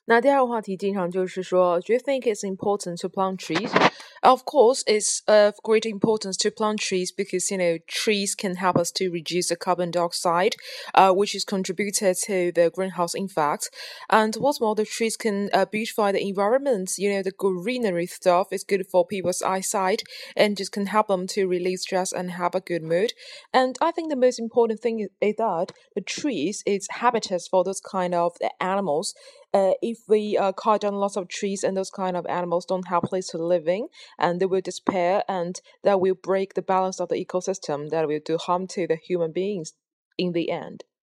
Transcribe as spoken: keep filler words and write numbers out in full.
那第二个话题经常就是说，Do you think it's important to plant trees? Of course, it's of great importance to plant trees because you know trees can help us to reduce the carbon dioxide, uh, which is contributed to the greenhouse effect. And what's more, the trees can uh, beautify the environment. You know, the greenery stuff is good for people's eyesight and just can help them to release stress and have a good mood. And I think the most important thing is, is that the trees is habitats for those kind of animals. Uh, if we uh, cut down lots of trees and those kind of animals don't have place to live in, and they will despair, and that will break the balance of the ecosystem, that will do harm to the human beings in the end.